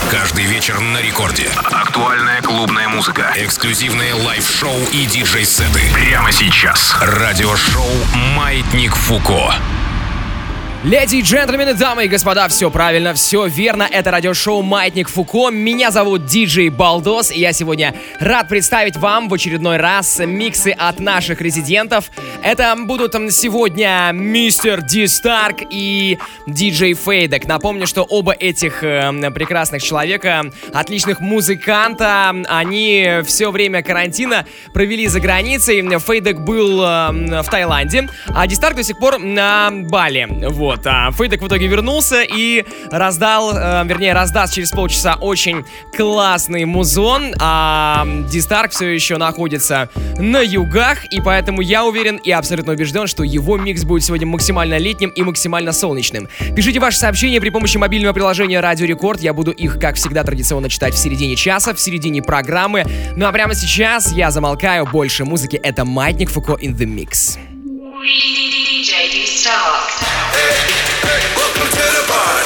Каждый вечер на рекорде. Актуальная клубная музыка. Эксклюзивные лайв-шоу и диджей-сеты. Прямо сейчас. Радиошоу «Маятник Фуко». Леди и джентльмены, дамы и господа, все правильно, все верно. Это радиошоу «Маятник Фуко». Меня зовут диджей Балдос, и я сегодня рад представить вам в очередной раз миксы от наших резидентов. Это будут сегодня мистер Ди Старк и диджей Фейдек. Напомню, что оба этих прекрасных человека, отличных музыканта, они все время карантина провели за границей. Фейдек был в Таиланде, а Ди Старк до сих пор на Бали. Вот. А Фейдек в итоге вернулся и раздаст через полчаса очень классный музон, а Ди Старк все еще находится на югах, и поэтому я уверен и абсолютно убежден, что его микс будет сегодня максимально летним и максимально солнечным. Пишите ваши сообщения при помощи мобильного приложения Радио Рекорд, я буду их, как всегда, традиционно читать в середине часа, в середине программы. Ну а прямо сейчас я замолкаю, больше музыки, это Маятник Фуко in the Mix. DJ D Stark. Welcome to the bar.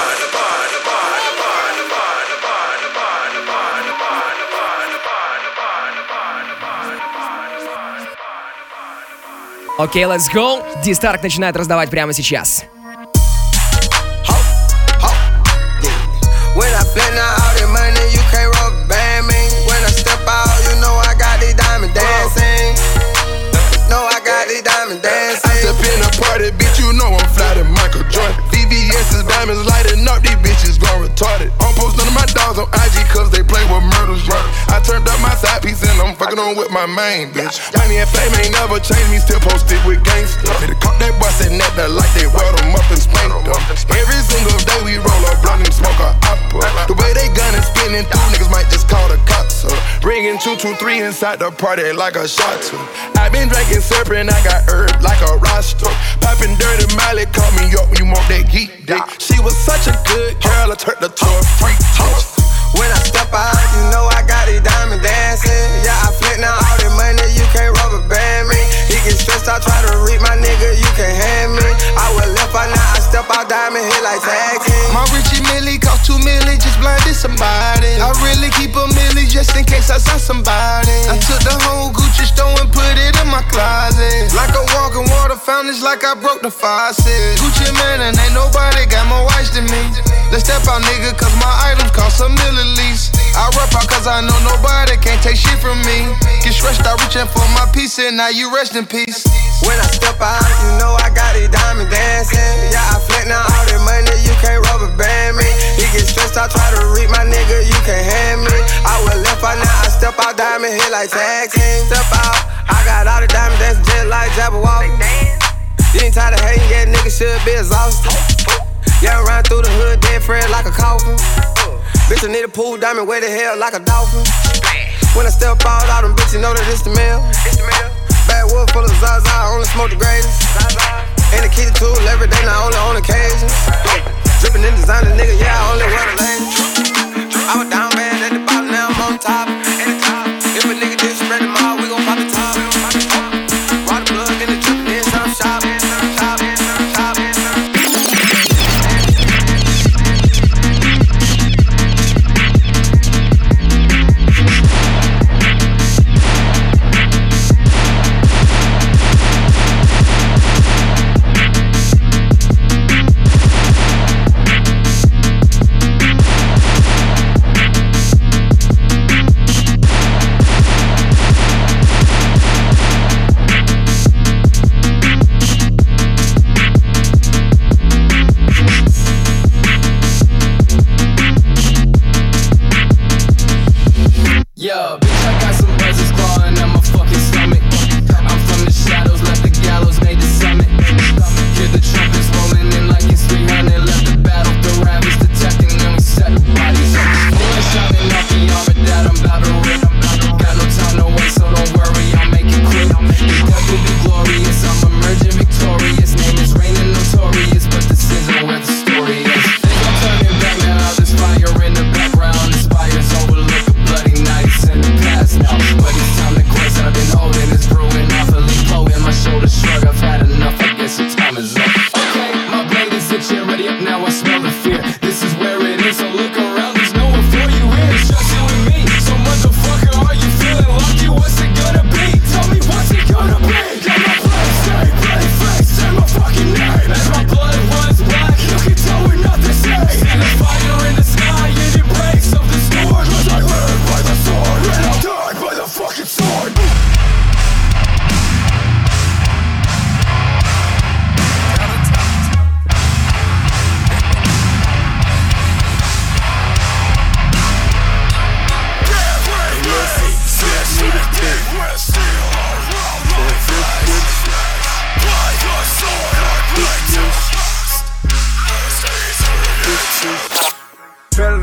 Окей, let's go. Ди Старк начинает раздавать прямо сейчас. When I flip now all that money, you can't rubber band me. When I step out, you know I got these diamonds dancing. No, I got these diamonds dancing. I step in a party, bitch, you know I'm fly to Michael Jordan. VVS is diamonds lighting up, these bitches gone retarded. I don't post none of my dogs on IG cause they play with murders. I turned up my side piece and I'm fucking on with my main bitch. Money and fame ain't never changed me, still posted with gangsters. They caught that boy sitting at the light, they weld them up and spanked them. Every single day we roll up, blunt and smoke a opera. The way they gun and spinning through, niggas might just call the cops up. Bringing 223 inside the party like a shot to. I been drinking serpent, I got herb like a roster. Popping dirty Miley, call me up when you want that geek dick. She was such a good girl, I turned her to a freak bitch. When I step out, you know I got these diamonds dancing. Yeah, I flip now all that money, you can't rubber band me. He get stressed out, try to read my nigga, you can't hand me. I was left out, now I step out, diamond hit like tag team. My Richie Millie cost 2 million, just blinded somebody. I really keep a milli just in case I saw somebody. I took the whole Gucci store and put it in my closet. Like a walking water fountain, it's like I broke the faucet. Gucci man and ain't nobody got more watch than me. Let's step out, nigga, cause my items cost $1 million at least. I rap out cause I know nobody can't take shit from me. Get stressed out reaching for my piece and now you rest in peace. When I step out, you know I got these diamonds dancing. Yeah, I flip now all that money, you can't rubber band me. He get stressed out, try to read my nigga, you can't hand me. I was left out, now I step out, diamond hit like tag team. Step out, I got all the diamonds dancing just like Jabberwock. You ain't tired of hating, yeah, nigga should be exhausted. Yeah, run through the hood, dead friend like a coffin. Bitch, I need a pool diamond, where the hell like a dolphin. When I step out, all them bitches know that it's the mail. Backwood full of Zaza, I only smoke the greatest. And the key to tool every day, not only on occasion. Drippin' in designer, nigga, yeah, I only wear the latest. I was down bad at the bottom, now I'm on top. If a nigga disrespect them all, we gon' pop the top. Water plug in the drippin' in some shop.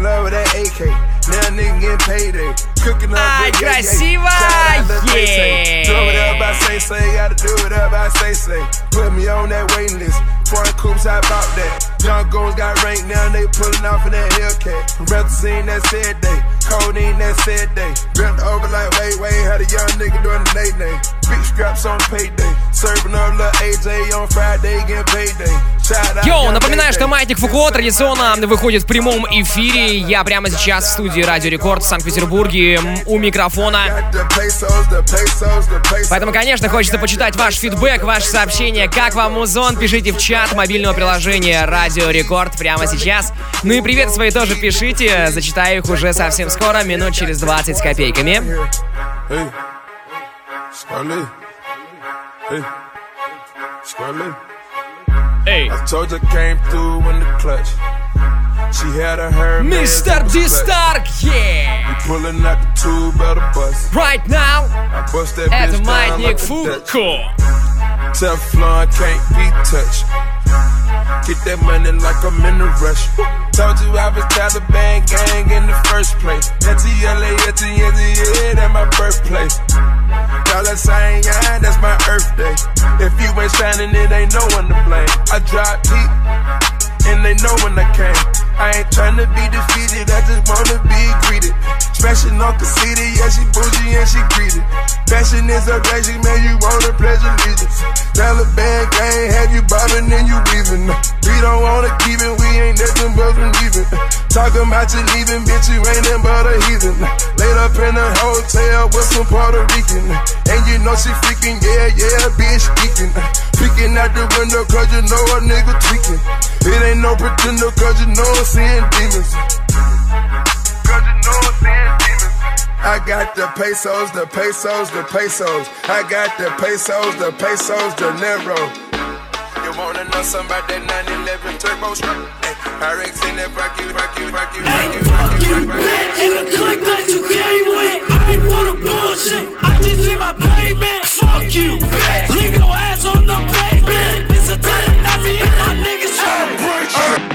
love with that AK. Now nigga getting payday. Cooking up. Ай, красиво! Do whatever I say, gotta do whatever I say. Put me on that waiting list. Foreign coops, I bought that. Young goals got ranked, now they pulling off in that Hellcat. Represent that said day. Codeine that said day. Bent over like wait, had a young nigga doing the nay. Big scraps on payday. Serving up little AJ on Friday, getting payday. Йоу, напоминаю, что Маятник Фуко традиционно выходит в прямом эфире. Я прямо сейчас в студии Радио Рекорд в Санкт-Петербурге у микрофона. Поэтому, конечно, хочется почитать ваш фидбэк, ваши сообщения. Как вам музон? Пишите в чат мобильного приложения Радио Рекорд прямо сейчас. Ну и привет свои тоже пишите. Зачитаю их уже совсем скоро, минут через 20 с копейками. Эй, Mr. D-Stark, yeah! Right now, это Маятник Фуко. Teflon can't be touched. Get that money like I'm in a rush. Told you I was Taliban gang in the first place. TLA, yeah, that's my birthplace. Dollar sign, yeah, that's my Earth Day. If you ain't shining, it ain't no one to blame. I drop heat, and they know when I came. I ain't tryna be defeated, I just wanna be greeted. Smashing on conceited, yeah, she bougie and she greedy. Fashion is a crazy man, you wanna pledge allegiance. Taliban gang, have you bobbing and you weaving. We don't wanna keep it, we ain't nothing but from leaving. Talking about you leaving, bitch, you ain't nothing but a heathen. Laid up in a hotel with some Puerto Rican. And you know she freaking, yeah, bitch, geeking. Peeking out the window cause you know a nigga tweaking. It ain't no pretender cause you know I'm seeing demons. Cause you know I'm seeing demons. I got the pesos. I got the pesos, the Nero. You wanna know something about that 911 turbo? RX in that rock you. In the click that you came with, I ain't wanna bullshit. I just need my payment. Fuck you, leave your ass on the pavement. It's a time, not me and my niggas tryna break shit.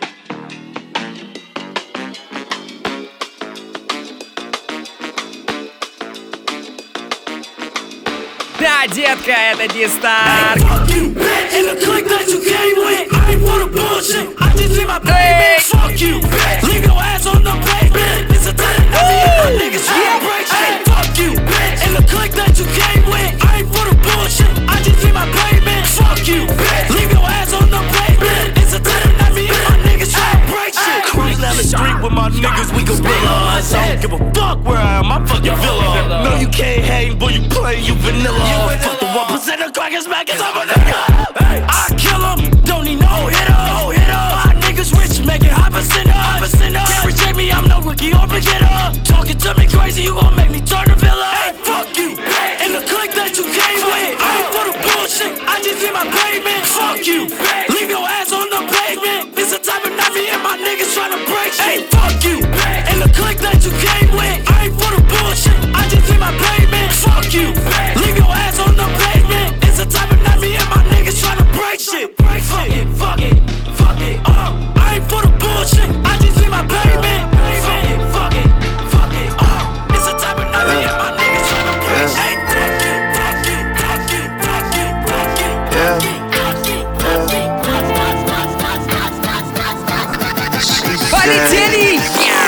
Да, детка, это D-Stark. In the click that you came with, I ain't wanna bullshit. I just need my payment. Fuck you, leave your ass on the pavement. It's a time, not me and my niggas tryna break shit. Fuck you, in the click that you came with, I ain't wanna bullshit. I just need my payment. Fuck you, leave your ass on the pavement. It's a time, not me and my niggas tryna break shit. Cruise down the street with my niggas, we gorillas. I don't give a fuck where I am, I'm fucking villa. No, you can't hang, boy, you play, you vanilla. Fuck the 1% of crackers back, it's over nigga. I kill him, don't need no hitter. My niggas rich, making high percent. Can't reject me, I'm no rookie or beginner. Talking to me crazy, you gon' make me turn a villa. Hey, fuck you, in the click that you came with. I ain't for the bullshit, I just need my payment. Fuck you, leave your ass on the pavement. It's the type of night me and my niggas tryna break shit. Hey, fuck you, in the click that you came with. I ain't for the bullshit, I just need my payment. Fuck you, leave your ass on the pavement. It's the type of night me and my niggas tryna break shit. Fuck it. I ain't for the bullshit, I just need my payment. Fuck it. It's the type of night me and my niggas tryna break shit. Полетели!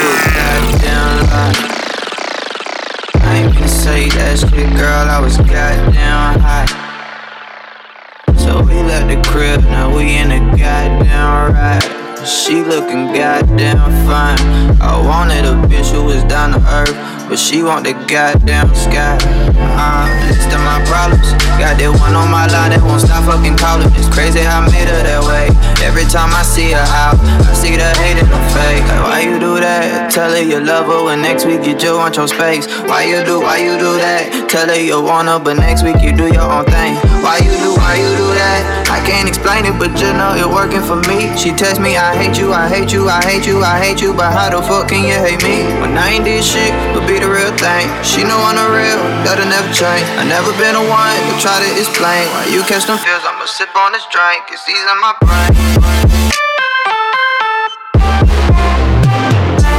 I ain't gonna say that shit, girl, I was goddamn hot. So we left the crib, now we in the goddamn ride. She looking goddamn fine. I wanted a bitch who was down to earth, but she want the goddamn sky. List of my problems. Got that one on my line that won't stop fucking calling. It's crazy how I made her that way. Every time I see her out, I see the hate in her face. Like, why you do that? Tell her you love her when next week you just want your space. Why you do that? Tell her you want her, but next week you do your own thing. Why you do that? I can't explain it, but you know it working for me. She text me, I hate you, but how the fuck can you hate me? When I ain't did shit, but be the real thing. She know I'm the real, that'll never change. I never been the one to try to explain. Why you catch them feels, I'ma sip on this drink, it's easy in my brain.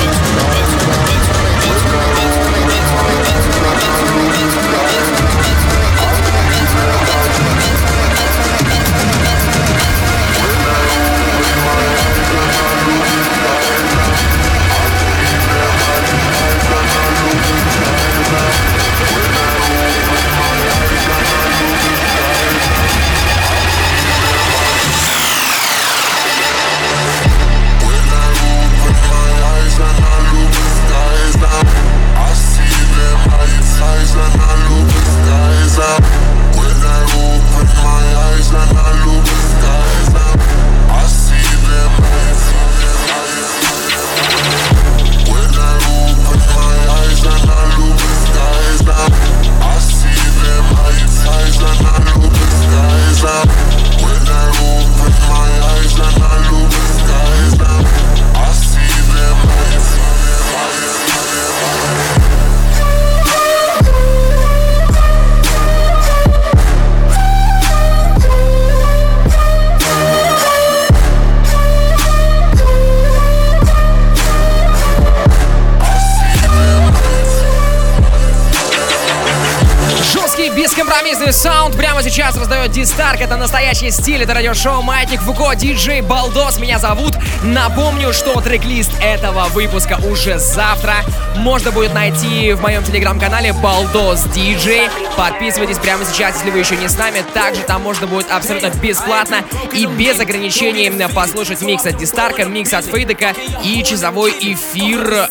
Бескомпромиссный саунд прямо сейчас раздает Дистарк. Это настоящий стиль, это радиошоу Маятник Фуко, диджей Балдос. Меня зовут. Напомню, что трек-лист этого выпуска уже завтра можно будет найти в моем телеграм-канале Балдос Диджей. Подписывайтесь прямо сейчас, если вы еще не с нами. Также там можно будет абсолютно бесплатно и без ограничений послушать микс от Дистарка, микс от Фейдека и часовой эфир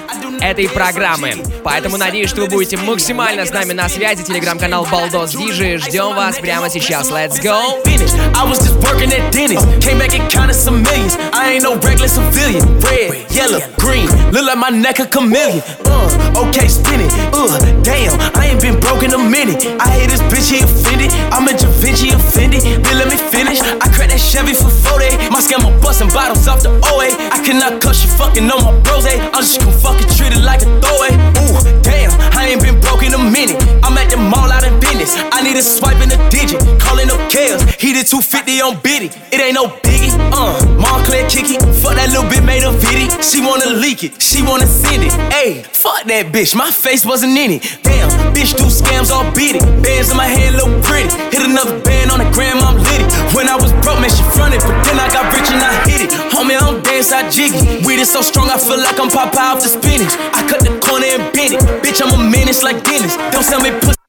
этой программы. Поэтому надеюсь, что вы будете максимально с нами на связи. Телеграм-канал Балдос Диджей. Ждем вас прямо сейчас. Let's go! I was just working at Dennis. Came back and counted some millions. I ain't no regular civilian. Red, yellow, green. Look like my neck a chameleon. Okay, spin it. Damn, I ain't been broke in a minute. I hate this bitch, he offended. I'm a Da Vinci offended. Then let me finish. I cracked that Chevy for 40. My scammer busting bottles off the OA. I cannot cuss you fucking on my bros. I'm just gonna fucking treat it like a throwaway. Damn, I ain't been broke in a minute. I'm at the mall out in business. I need a swipe in a digit. Calling up Kales. He did 250 on Biddy. It ain't no biggie. Montclair kick it. Fuck that little bit made a viddy. She wanna leak it. She wanna send it. Ayy, fuck that bitch. My face wasn't in it. Damn, bitch do scams all beat it. Bands in my hand look pretty. Hit another band on the gram, I'm lit it. When I was broke, man, she fronted. But then I got rich and I hit it. Homie, I don't dance, I jiggy. Weed is so strong, I feel like I'm Popeye off the spinach. I cut the corner and bend it. Bitch, I'm a menace like Dennis. Don't sell me pussy.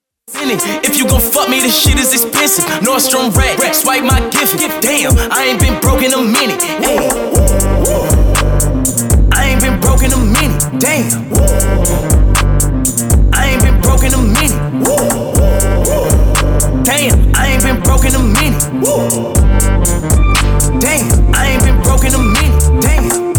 If you gon' fuck me, this shit is expensive. Nordstrom rack, swipe my gift. Damn, I ain't been broke in a minute. Ay. I ain't been broke in a minute. Damn, I ain't been broke in a minute. Damn, I ain't been broke in a minute. Damn, I ain't been broke in a minute. Damn.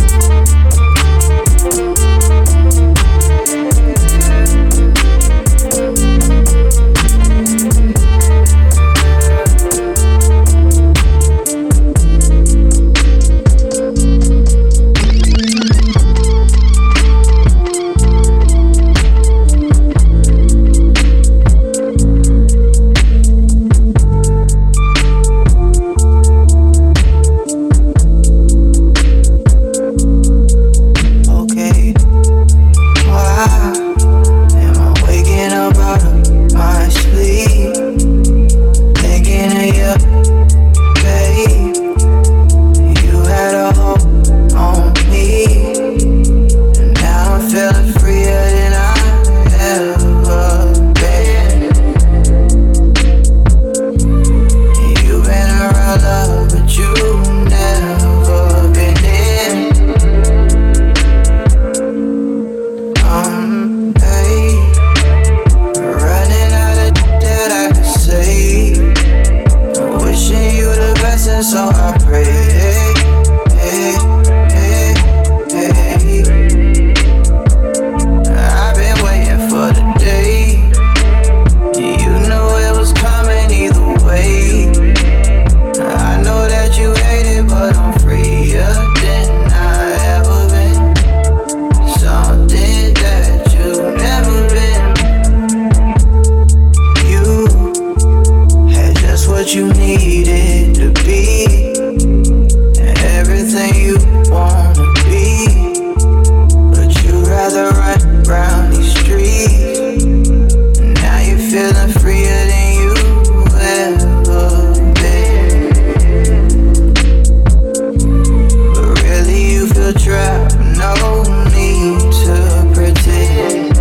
no need to pretend.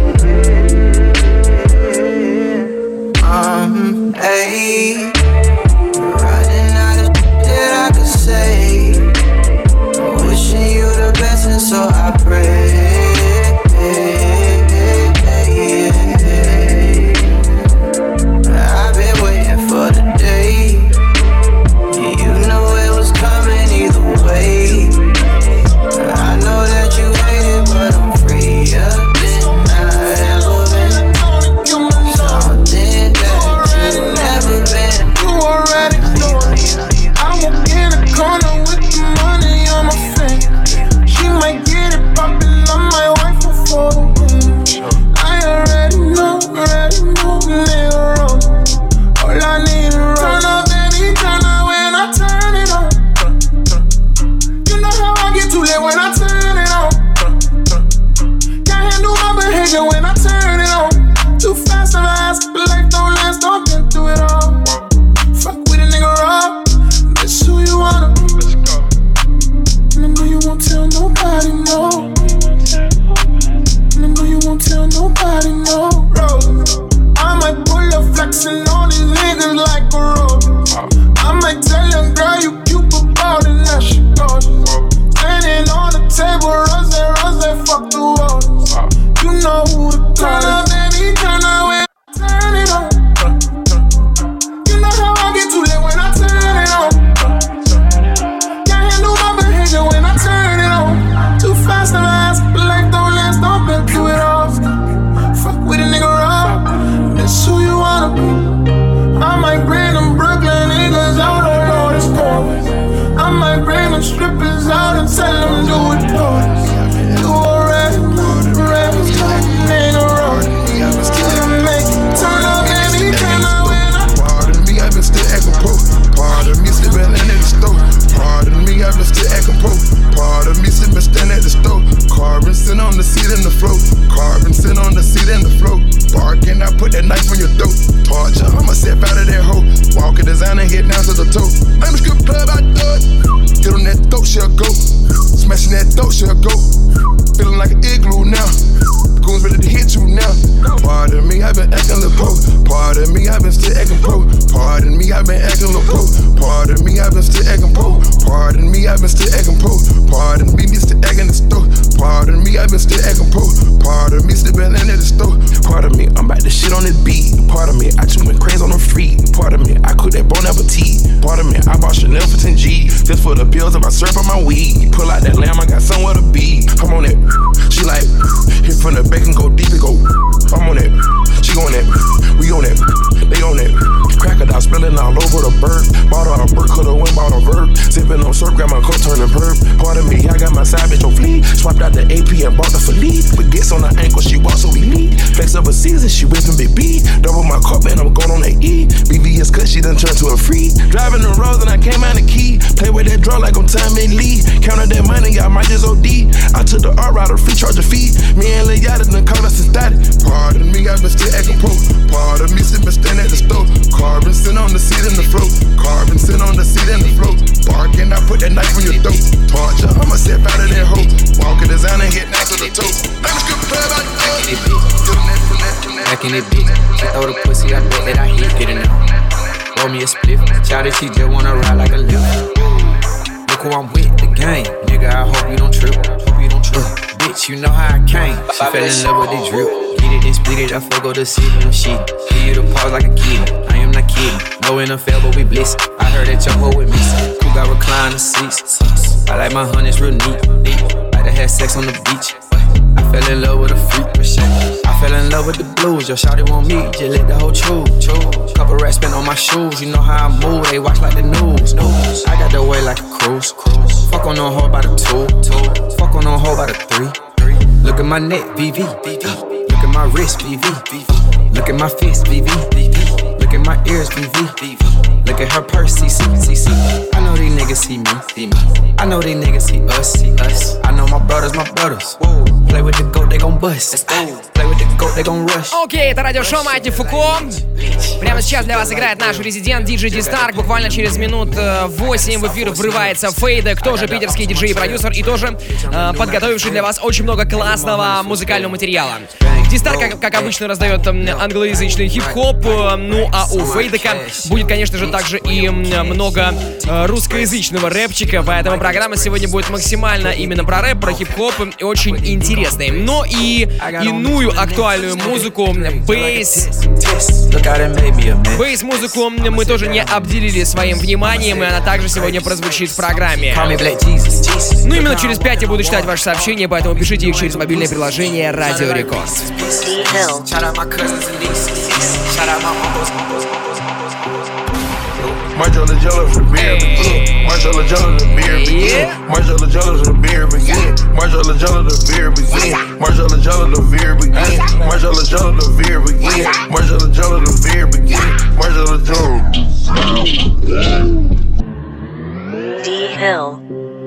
Hey, running out of that I could say. Wishing you the best, and so I pray. I've been waiting for the day. You know it was coming either way. I know that you hate it, but I'm freer than I ever been. Something that you never been. You already know. I walk in the corner with the money on my finger. She might get it poppin', I might wife her for the win. I already know, nigga wrong. All I need is turn up, baby, turn up when I turn it on. You know how I get too late when I turn it on. Can't handle my behavior when I turn it on. Too fast of ass, but life don't last, I've been through it all. Fuck with a nigga raw, that's who you wanna be. And I know you won't tell nobody, no. And I know you won't tell nobody, no. I might pull up flexing on these niggas like a rope. I might tell your girl you cute about it, now she goes. Standing on the table, rose, fuck the walls. You know who to call. Turn up, baby, turn up when I turn it on. You know how I get too late when I turn it on. Can't handle my behavior when I turn it on. Too fast of ass, but life don't last, I've been through it all. Fuck with a nigga raw, that's who you wanna be. I might bring them Brooklyn niggas out on all this chorus. I might bring them strippers out and tell them do it for us. You already know, nigga wrong. Still make it turn up, baby, turn up when I. Pardon me, I've been still acting po. Pardon me, slipping in at the store. Pardon me, I've been still acting po. Pardon me, slipping stand at the store. Carbon sit on the seat and the float. Carbon sit on the seat and the float. Barking, I put that knife on your throat. Torture, I'ma step out of that hole. Walk a designer, head down to the toe. I'm a strip club, I do it. Get on that throat, she'll go. Smashing that throat, she'll go. Feeling like an igloo now. Goons ready to hit you now. Pardon me, I've been acting little po. Pardon me, I've been still acting po. Pardon me, I've been acting little po. Pardon me, I've been still acting po. Pardon me, I've been still acting po. Pardon me, still acting the store. Pardon me, I've been still acting po. Pardon me, still been in at the store. Pardon me, I'm about to shit on this beat. Pardon me, I just went crazy on the free. Pardon me, I cook that Bon Appetit. Pardon me, I bought Chanel for 10 G's. Just for the pills of my syrup on my weed. Pull out that lamb, I got somewhere to be. I'm on that. She like, hit from the back and go deep and go. I'm on that. She on that. We on that. They on that. Crocodile spilling all over the bird. Bought her a bird, coulda went bought a verb. Sipping on syrup, got my coat turning perp. Pardon me, I got my side bitch on fleek. Swapped out the AP and bought the Philippe. With gets on her ankle, she walks so elite. Flex up a season, she whipping big B. Double my cup and I'm going on that E. BVS cut, she done turned to a free. Driving the roads and I came out the key. Play with that draw like I'm Time and Lee. Counted that money, y'all might just OD. I took the R out, a free charge a fee. Me and Lil Yachty done called us a static. Pardon me, I've been still acting po. Pardon me, still been standing at the stove. Carbon sit on the seat and the float. Carbon sit on the seat and the float. Barking, I put that knife on your throat. Torture, I'ma step out of that hole. Walk a designer, head down to the toe. I'm a strip club, I do it. Back in it, bitch. She throw the pussy, I bet that I hit. Get it now. Roll me a spliff. Shawty, she just wanna ride like a lift. Look who I'm with, the gang. Nigga, I hope you don't trip. Bitch, you know how I came. She fell in love with the drip. Get it and split it, I fuck the city, no shit. Give you the pause like a kid. I am not kidding. No NFL, but we bliss. I heard that your hoe with me. Who got recliner seats? I like my honeys real neat. Like to have sex on the beach. I fell in love with a freak. I fell in love with the blues. Your shawty want me, just let the whole chew. Couple racks spent on my shoes. You know how I move, they watch like the news. I got the way like a cruise. Fuck on no hoe by the 2. Fuck on no hoe by the 3. Look at my neck, VV. Look at my wrist, VV. Look at my fist, VV. Look at my ears, VV. Look at her purse, CC. I know these niggas see me. I know these niggas see us. I know my brothers. Whoa. Play with the goat, they gon' bust. Play with the goat, Окей, это радиошоу Маятник Фуко. Прямо сейчас для вас играет наш резидент диджей D-Stark. Буквально через минут 8 в эфир врывается Фейдек, тоже питерский диджей и продюсер, и тоже подготовивший для вас очень много классного музыкального материала. D-Stark, как обычно, раздает англоязычный хип-хоп, ну а у Фейдека будет, конечно же, также и много русскоязычного рэпчика, поэтому программа сегодня будет максимально именно про рэп, про хип-хоп и очень интересной. Но и иную актуальную музыку, бейс-музыку мы тоже не обделили своим вниманием, и она также сегодня прозвучит в программе. Ну именно через 5 я буду читать ваши сообщения, поэтому пишите их через мобильное приложение Радио Рекорд. Marshall jealous the beer begin. Marshall jealous the beer begin. Marshall jealous the beer begin. Marshall jealous the beer begin. Marshall jealous the beer begin. Marshall jealous the beer begin. Marshall jealous the beer begin. Marshall jealous. D-Hill.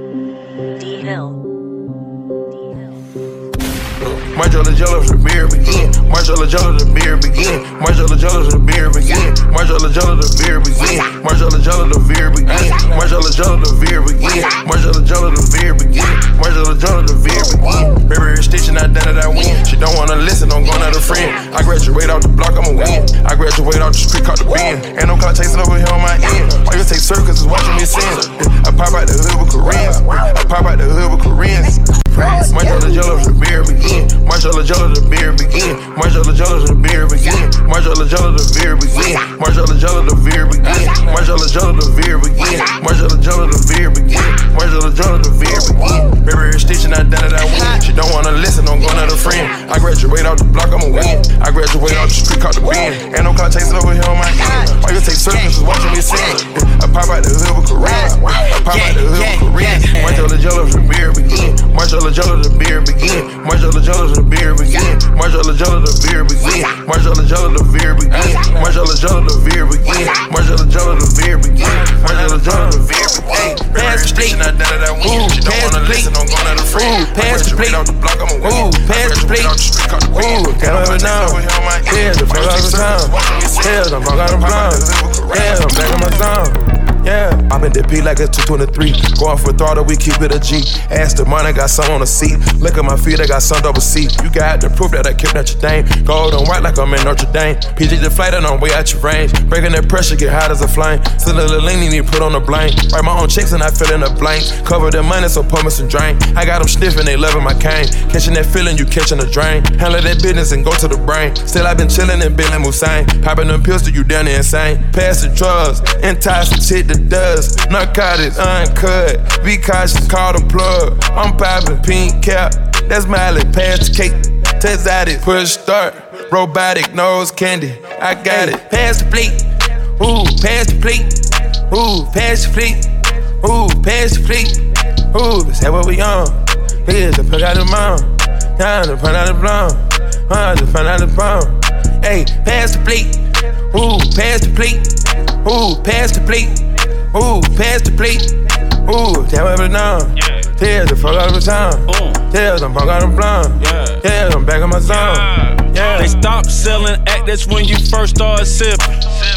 Marshall jealous the beer begin. Marshall jealous the beer begin. Marshall jealous the beer begin. Marshall jealous the beer begin. Marshall jealous the beer begin. Marshall jealous the beer begin. Marshall jealous the beer begin. Marshall jealous the beer begin. Baby, stitching, I done it, I win. She don't wanna listen, I'm going out a friend. I graduate off the block, I'ma win. I graduate off the street, caught the bin. Ain't no clock chasing over here on my end. Why you take circus is watching me sin? I pop out the hood with Koreans. I pop out the hood with Koreans. Marshall jealous the beer begin. Marshall jealous the beer begin. Marshall jealous the beer begin. Marshall jealous the beer begin. Marshall jealous the beer begin. Marshall jealous the beer begin. Marshall jealous the beer begin. Marshall jealous the beer begin. Baby, stitching, I done it, I win. She don't wanna listen, I'm going out a friend. I graduate off the block, I'ma win. I graduate off the street, caught the bin. Ain't no clock chasing over here on my end. Why you take circus is watching me sin? I pop out the hood with Koreans. I pop out the hood with Koreans. Marshall jealous the beer begin. Marshall jealous the beer begin. Marshall jealous the beer begin. Marshall jealous the beer begin. Marshall jealous the beer begin. Marshall jealous the beer begin. Marshall jealous the beer begin. Marshall jealous the beer begin. Pass the plate, I done it, I win. She don't wanna listen, I'm going out a friend. Pass the plate, off the block, I'ma win. Pass the plate, can't have it now. Yeah, the fuck out of town. Yeah, the fuck out of town. Yeah, I'm back on my town. Yeah, I'm in the P like it's 223. Going for throttle, we keep it a G. Ask the money, got some on the seat. Look at my feet, I got some double C. You got the proof that I kept Notre Dame. Gold on white like I'm in Notre Dame. PG the flight and I'm way out your range. Breaking that pressure, get hot as a flame. Still a little lean, need put on the blame. Write my own checks and I fill in the blanks. Cover the money, so pour me some drain. I got them sniffing, they loving my cane. Catching that feeling, you catching the drain. Handle that business and go to the brain. Still I been chillin' and Billy Musain. Popping them pills till you down there insane. Pass the drugs, entice some shit that does. Narcotics, uncut. Be cautious, call the plug. I'm popping pink cap. That's Miley, pass the cake. Test out it, push start. Robotic nose candy. I got it. Pass the plate. Ooh, pass the plate. Ooh, pass the plate. Ooh, pass the plate. Ooh, is that what we on? Here's the put out the mom. Now the put out the blonde. The put out the bomb. Hey, pass the plate. Ooh, pass the plate. Ooh, pass the plate. Ooh, pass the plate. Ooh, damn it now. Tell the fuck out of the town. Tell them fuck out of the blonde. Tell them back on my zone. Yeah. They stopped selling act, that's when you first started sipping.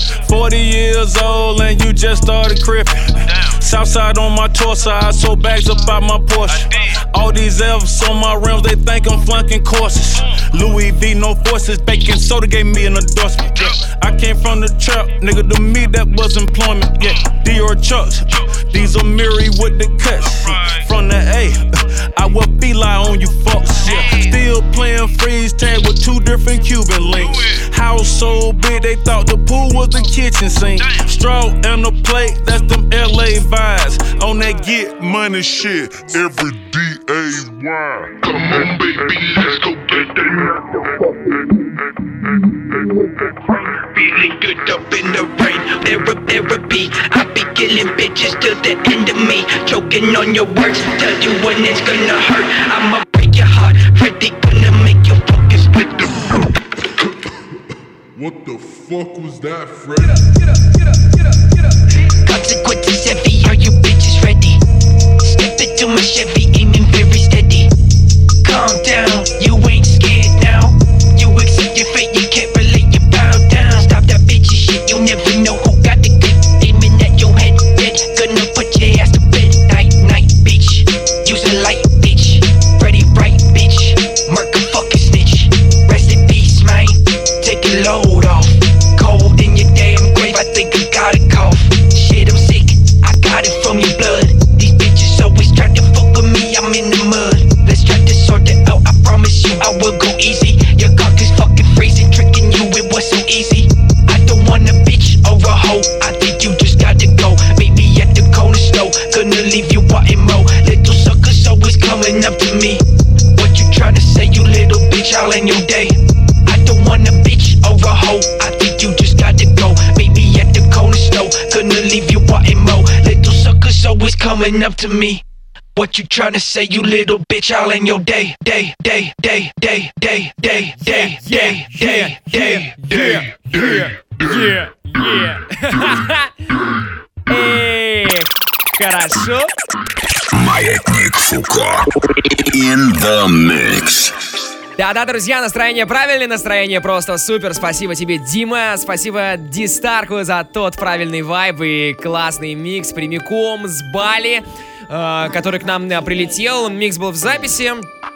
40 years old and you just started crippin'. Southside on my torso, I sold bags up out my Porsche. All these F's on my rims, they think I'm flunking courses. Louis V, no forces, baking soda gave me an endorsement. Yeah. I came from the trap, nigga, to me that was employment. Yeah, Dior Chucks, these are Miri with the cuts. From the A, I will be lie on you fucks. Yeah. Still playing freeze tag with 2 different Cuban links. House so big, they thought the pool was the kitchen sink. Straw and the plate, that's them LA vibes. On that get money shit, every D-A-Y. Come on, baby, let's go get that. Feeling good up in the rain, therapy. I be killing bitches till the end of me. Choking on your words, tell you when it's gonna hurt. I'ma break your heart, Freddy gonna make you focus with the. What the fuck was that, Fred? Consequences heavy, are you bitches ready? Step into my Chevy, aiming very steady. Calm down, you ain't scared now. You accept all in your day. I don't want a bitch or a hoe. I think you just gotta go. Baby at the cold snow, gonna leave you wanting more. Little suckers always coming up to me. What you tryna say, you little bitch, all in your day. Эх, хорошо. Маятник Фуко. In the mix. Да-да, друзья, настроение правильное, настроение просто супер. Спасибо тебе, Дима, спасибо Дистарку за тот правильный вайб и классный микс прямиком с Бали, который к нам прилетел. Микс был в записи,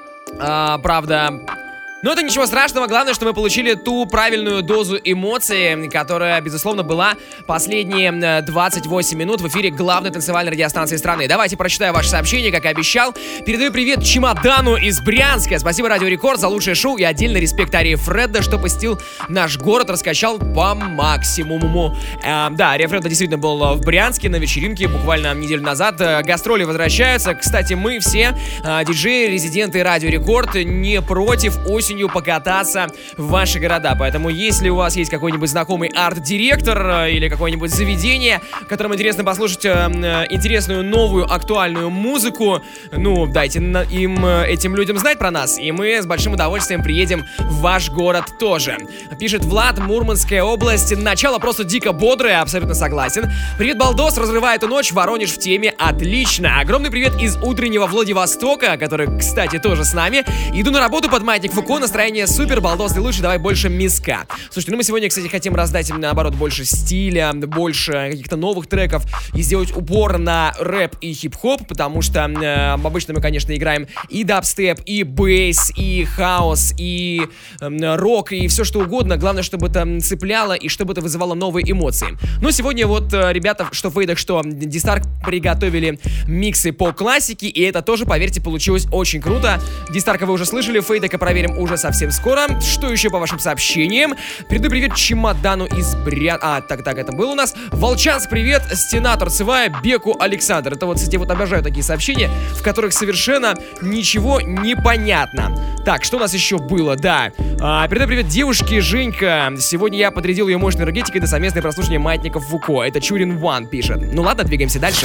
правда. Но это ничего страшного, главное, что мы получили ту правильную дозу эмоций, которая, безусловно, была последние 28 минут в эфире главной танцевальной радиостанции страны. Давайте прочитаю ваше сообщение, как и обещал. Передаю привет Чемодану из Брянска. Спасибо Радио Рекорд за лучшее шоу и отдельно респект Арии Фредда, что посетил наш город, раскачал по максимуму. Да, Ария Фредда действительно был в Брянске на вечеринке буквально неделю назад. Гастроли возвращаются. Кстати, мы все, диджеи, резиденты Радио Рекорд, не против осенью покататься в ваши города. Поэтому, если у вас есть какой-нибудь знакомый арт-директор или какое-нибудь заведение, которым интересно послушать интересную, новую, актуальную музыку, ну, дайте им, этим людям знать про нас, и мы с большим удовольствием приедем в ваш город тоже. Пишет Влад, Мурманская область. Начало просто дико бодрое, абсолютно согласен. Привет, Балдос, разрывает эту ночь, Воронеж в теме, отлично. Огромный привет из утреннего Владивостока, который, кстати, тоже с нами. Иду на работу под Маятник Фуко, настроение супер, Балдос, ты лучше, давай больше миска. Слушайте, ну мы сегодня, кстати, хотим раздать им, наоборот, больше стиля, больше каких-то новых треков и сделать упор на рэп и хип-хоп, потому что обычно мы, конечно, играем и дабстеп, и бейс, и хаос, и рок, и все что угодно. Главное, чтобы это цепляло и чтобы это вызывало новые эмоции. Но сегодня вот ребята, что в фейдах, что Дистарк, приготовили миксы по классике, и это тоже, поверьте, получилось очень круто. Дистарка вы уже слышали, фейдека проверим уже совсем скоро. Что еще по вашим сообщениям? Передаю привет Чемодану из Так, это был у нас. Волчанск, привет. Стена торцевая, Беку Александр. Это вот, кстати, вот обожаю такие сообщения, в которых совершенно ничего не понятно. Так, что у нас еще было? Да. Передаю привет девушке Женька. Сегодня я подрядил ее мощной энергетикой на совместное прослушивание Маятников Фуко. Это Чурин Ван пишет. Ну ладно, двигаемся дальше.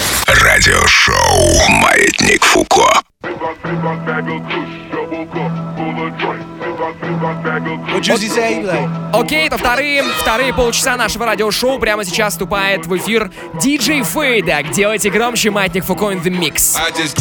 Радиошоу Маятник Фуко. Окей, это вторые полчаса нашего радиошоу. Прямо сейчас вступает в эфир диджей Фейдак. Делайте громче, Маятник Фуко in the mix.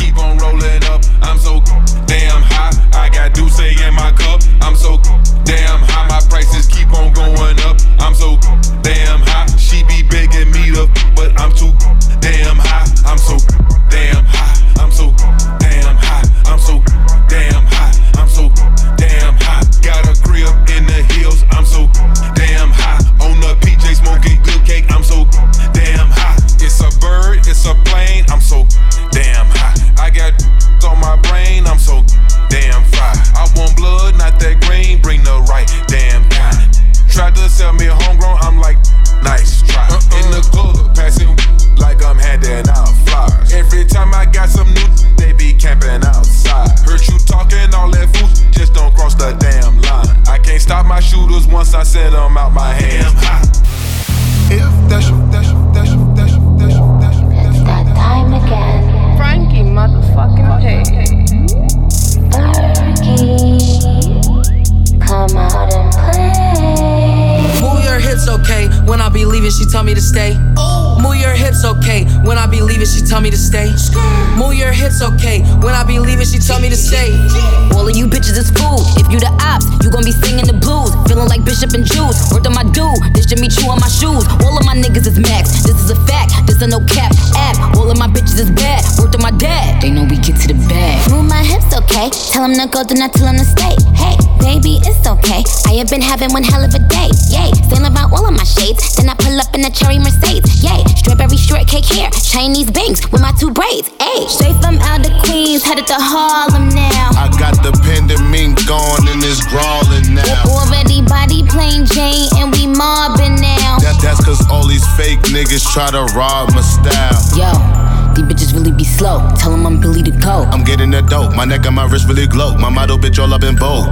Go, do not tell him to stay. Hey, baby, it's okay. I have been having one hell of a day. Yay, sailing about all of my shades. Then I pull up in a cherry Mercedes. Yay, strawberry shortcake hair, Chinese bangs with my 2 braids. Ayy, straight from out of Queens, headed to Harlem now. I got the pendant gone and it's crawling now. Already body plain Jane and we mobbing now. That's cause all these fake niggas try to rob my style. Yo, these bitches really be slow. Tell them I'm Billy the Goat. I'm getting that dope. My neck and my wrist really glow. My model bitch all up in vogue. All up in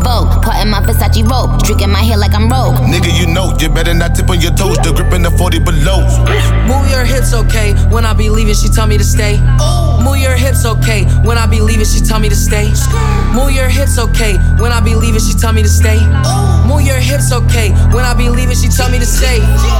Vogue. Part in my Versace robe. Streaking my hair like I'm Rogue. Nigga, you know, you better not tip on your toes. The grip in the 40 below. Move your hips, okay. When I be leaving, she tell me to stay. Move your hips, okay. When I be leaving, she tell me to stay. Move your hips, okay. When I be leaving, she tell me to stay. Move your hips, okay. When I be leaving, she tell me to stay.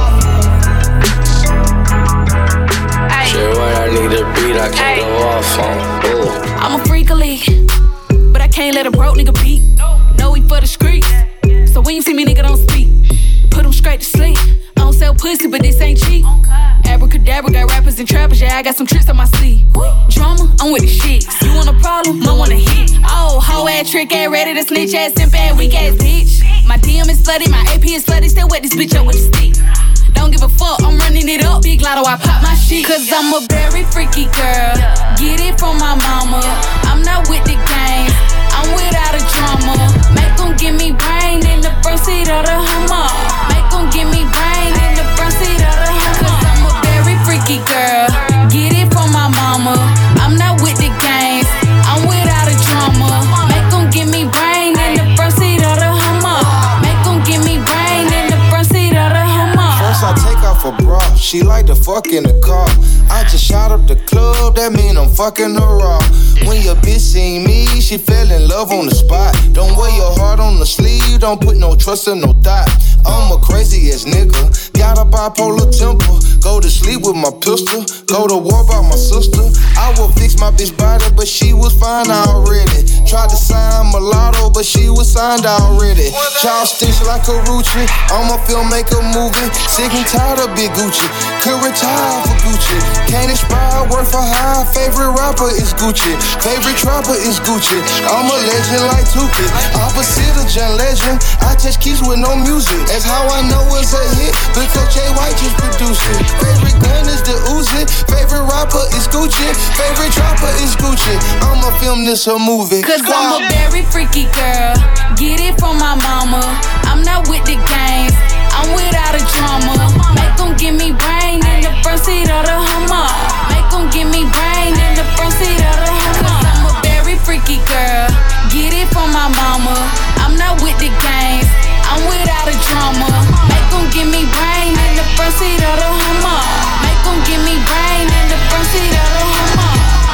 Shit, when I need a beat, I can't go off on. Ooh. I'm a freak of league, but I can't let a broke nigga beat. No, we for the streets, so when you see me, nigga, don't speak. Put them straight to sleep. I don't sell pussy, but this ain't cheap. Abracadabra, got rappers and trappers, yeah, I got some tricks on my sleeve. Drama, I'm with the shit. You want a problem, I want a hit. Oh, hoe ass, trick ass, ready to snitch ass, simp ass, weak ass bitch. My DM is slutty, my AP is slutty, still wet this bitch up with a stick. Don't give a fuck, I'm running it up. Big lotto, I pop my shit. Cause I'm a very freaky girl. Get it from my mama. I'm not with the games, I'm without a drama. Make them give me brain in the front seat of the Hummer. Make them give me brain in the front seat of the Hummer. Cause I'm a very freaky girl. Get it from my mama. I'm not with the games, I'm without a drama. Make them give me brain in the front seat of the Hummer. Make them give me brain in the front seat of the Hummer. First I take off a bra, she like to fuck in the car. I just shot up the club, that mean I'm fucking her raw. When your bitch seen me, she fell in love on the spot. Don't wear your heart on the sleeve, don't put no trust in no thought. I'm a crazy ass nigga, got a bipolar temper. Go to sleep with my pistol, go to war by my sister. I will fix my bitch body, but she was fine already. Tried to sign mulatto, but she was signed already. Child stitch like a Rucci, I'm a filmmaker movie. Sick and tired of Big Gucci, could retire for Gucci. Can't expire, work for high. Favorite rapper is Gucci, favorite trapper is Gucci. I'm a legend like Tupac, opposite of John Legend. I touch keys with no music, that's how I know it's a hit, because Jay White just produced it. Favorite gun is the Uzi, favorite rapper is Gucci, favorite trapper is Gucci. I'ma film this a movie. Cause I'm a very freaky girl. Get it from my mama. I'm not with the games, I'm without a drama. Make them give me brain in the front seat of the Hummer. Make them give me brain in the front seat of the Hummer. Cause I'm a very freaky girl. Get it from my mama. I'm not with the games, I'm without a drama. Make them give me brain in the front seat of the Hummer. Make them give me brain in the front seat of the Hummer.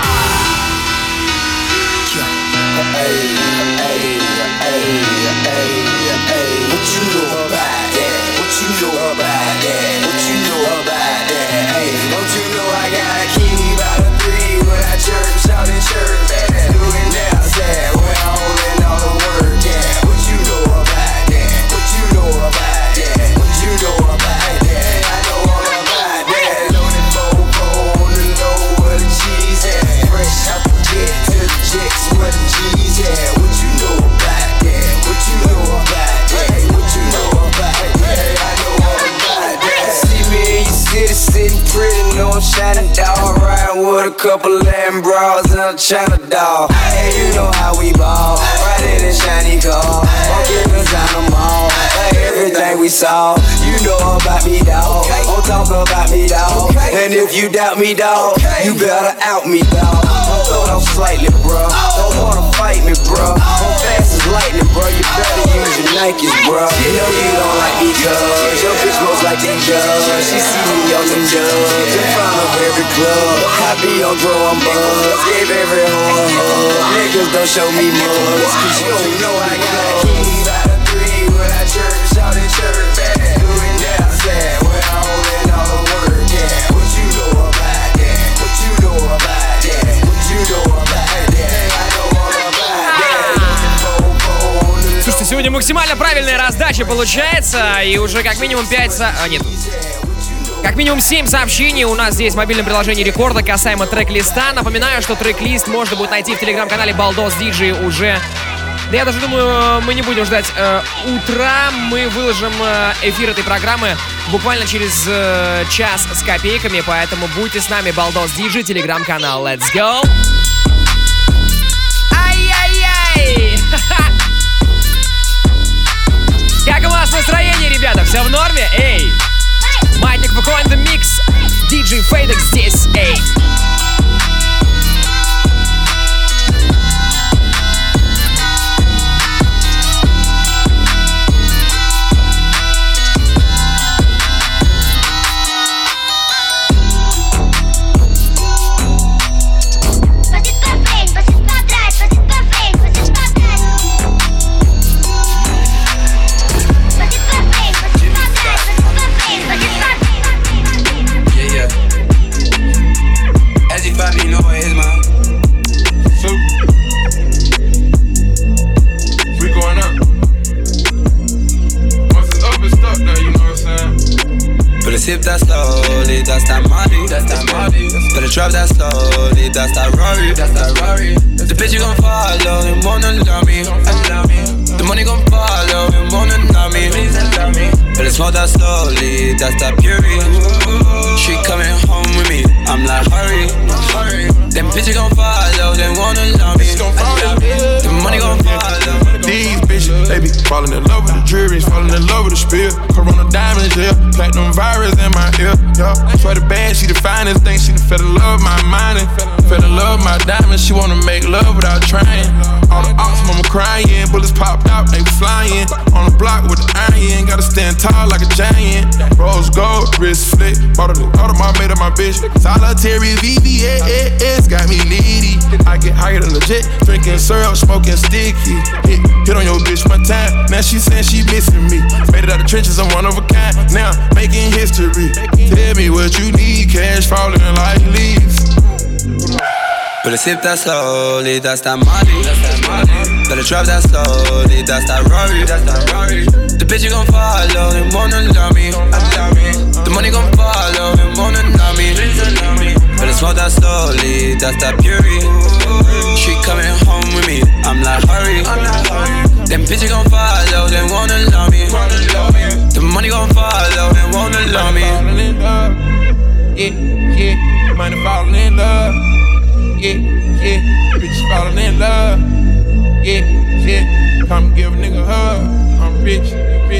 What you know about that? What you know about that? What you know about that? Hey, don't you know I got a key by the 3 when I church out in church? Doing outside when I'm holding all the work. Yeah, what you know about that? What you know about that? What you know about that? I know all about that. Loaded phone to know where the cheese at. Fresh out the jet to the checks where the G's at. What you know about that? What you know about that? What you know about that? I know all about that. See me in your city, sitting pretty, no shining dog. Riding with a couple Latin bras and a China doll. Hey, you know how we ball. Riding in shiny car. Walking inside the mall. Like everything we saw. You know about me, dawg. Don't talk about me, dawg. And if you doubt me, dawg, you better out me, dawg. Don't throw down slightly, bro. Don't wanna fight me, bro. I'm fast as lightning, bro. You better use your Nikes, bro. You know you don't like me, cuz your bitch most like the judge. She see me on them dubs in front of every club. I be on draw, I'm buzz. Gave every hoe a hug. Niggas don't show me much, cause you don't know I got a key by the 3 when I church out in church. Doing outside when I'm holding all the work. Yeah, what you know about that? What you know about that? What you know about that? I know all about that. Слушайте, сегодня максимально правильная раздача получается. И уже как минимум 5... нет. Как минимум 7 сообщений у нас здесь в мобильном приложении Рекорда касаемо трек-листа. Напоминаю, что трек-лист можно будет найти в телеграм-канале Балдос Диджей уже... Да я даже думаю, мы не будем ждать утра. Мы выложим эфир этой программы буквально через час с копейками. Поэтому будьте с нами, Балдос Диджей, телеграм-канал. Let's go! Ай-яй-яй! Как у вас настроение, ребята? Все в норме? Эй! Маятник ФК in the mix. DJ Fadex здесь, эй! sip that slowly, that's that Molly. Better drop that slowly, that's that Rory. The bitch you gon' follow and wanna love me. The money gon' follow and wanna love me. Better smoke that slowly, that's that Puri. She coming home with me, I'm like hurry. Them bitches gon' follow, they wanna love me. The money gon' follow. These bitches, they be falling in love with the juries, falling in love with the spill. Corona diamonds, yeah, platinum virus in my ear, yeah. Swear the band, she the finest thing, she fell in love my mind and fell in love my diamonds. She wanna make love without trying. All the ops, mama crying, bullets popped out, they flying. On the block with the iron, gotta stand tall like a giant. Rose gold, wrist flick, bought the Audemars, made up my bitch. Solitary VVS, got me needy. I get higher than legit, drinking syrup, smoking sticky. Hit on your bitch one time, now she saying she missing me. Made it out the trenches, I'm one of a kind, now making history. Tell me what you need, cash falling like leaves. Better sip that slowly, that's that Molly. Better drop that slowly, that's that Rory. The bitch you gon' follow and wanna love me. The money gon' follow and wanna love me. Better smoke that slowly, that's that Puri. She coming home with me, I'm like hurry. Them bitches gon' follow, they wanna love me. The money gon' follow, they wanna love me. Yeah, money falling in love. Yeah, bitches falling in love. Yeah, come give a nigga a hug. I'm rich.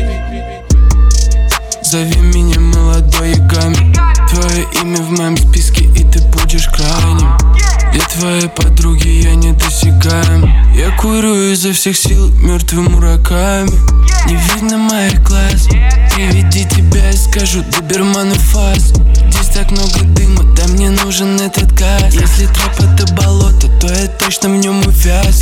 Зови меня молодой Ягами. Твое имя в моем списке, и ты будешь крайним. Для твоей подруги я недосягаем. Я курю изо всех сил мертвым урагами. Не видно моих глаз. Приведи тебя и скажу доберману фаз. Здесь так много дыма, да мне нужен этот газ. Если трэп это болото, то я точно в нем увяз.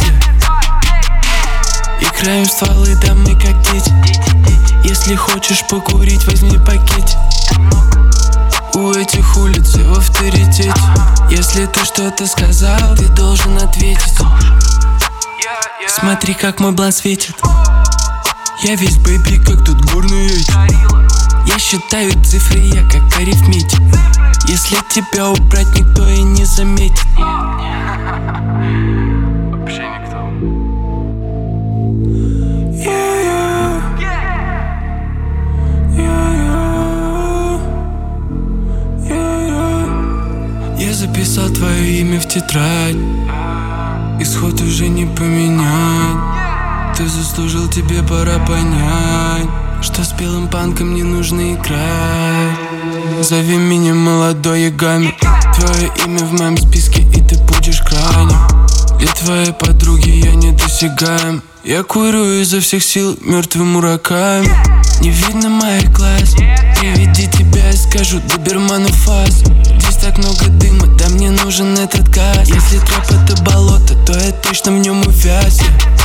Играем в стволы, да мы как дети. Если хочешь покурить, возьми пакетик. У этих улиц я в авторитете. Если ты что-то сказал, ты должен ответить. Смотри, как мой блан светит. Я весь бэйби, как тут горный эти. Я считаю цифры, я как арифметик. Если тебя убрать, никто и не заметит. Вообще никто. Я записал твое имя в тетрадь. Исход уже не поменять. Ты заслужил, тебе пора понять, что с белым панком не нужно играть. Зови меня молодой Ягами. Твое имя в моем списке, и ты будешь крайним. Для твоей подруги я недосягаем. Я курю изо всех сил мертвым урагами. Не видно моих глаз. Приведи тебя и скажу доберману фаз. Здесь так много дыма, да мне нужен этот газ. Если трэп это болото, то я точно в нем увяз.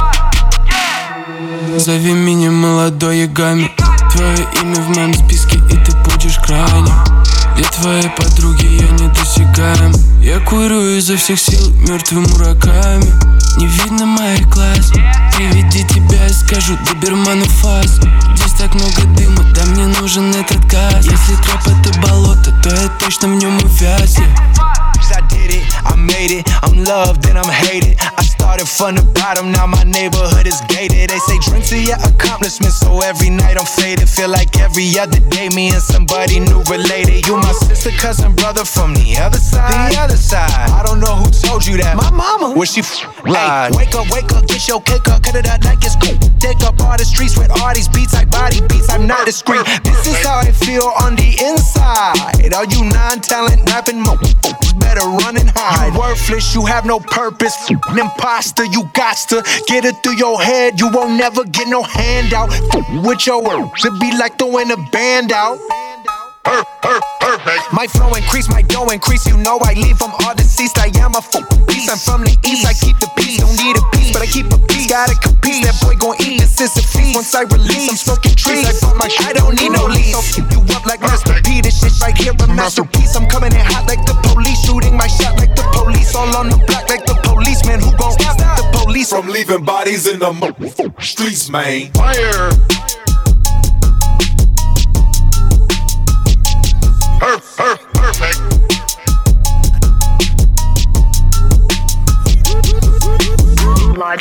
Зови меня молодой Ягами. Твое имя в моем списке, и ты будешь крайним. Для твоей подруги я недосягаем. Я курю изо всех сил мертвым урагами. Не видно моих глаз. Приведи тебя и скажу доберману фаз. Здесь так много дыма, да мне нужен этот газ. Если трэп это болото, то я точно в нем увяз. I did it, I made it, I'm loved and I'm hated. I started from the bottom, now my neighborhood is gated. They say drink to your accomplishments, so every night I'm faded. Feel like every other day me and somebody new related. You my sister, cousin, brother from the other side. I don't know who told you that. My mama, where she hey, wake up, get your cake up, cut it up like it's cool. Take up all the streets with all these beats, like body beats, I'm not discreet. This is how I feel on the inside. All you non-talent rapping mo better run and hide. You worthless, you have no purpose. An imposter, you got to get it through your head. You won't never get no handout. With your words, it be like throwing a band out. Perfect. My flow increase, my dough increase. You know I leave from all deceased. I am a beast. I'm from the east. I keep the peace. Don't need a piece, but I keep a piece. Gotta compete. That boy gon' eat. This is a feast. Once I release, I'm smoking trees. I bought my shit. I don't need no lease. So keep you up like Master P. This shit right here a masterpiece. I'm coming in hot like the police. Shooting my shot like the police. All on the block like the policeman. Who gon' stop the police from leaving bodies in the streets, man? Fire.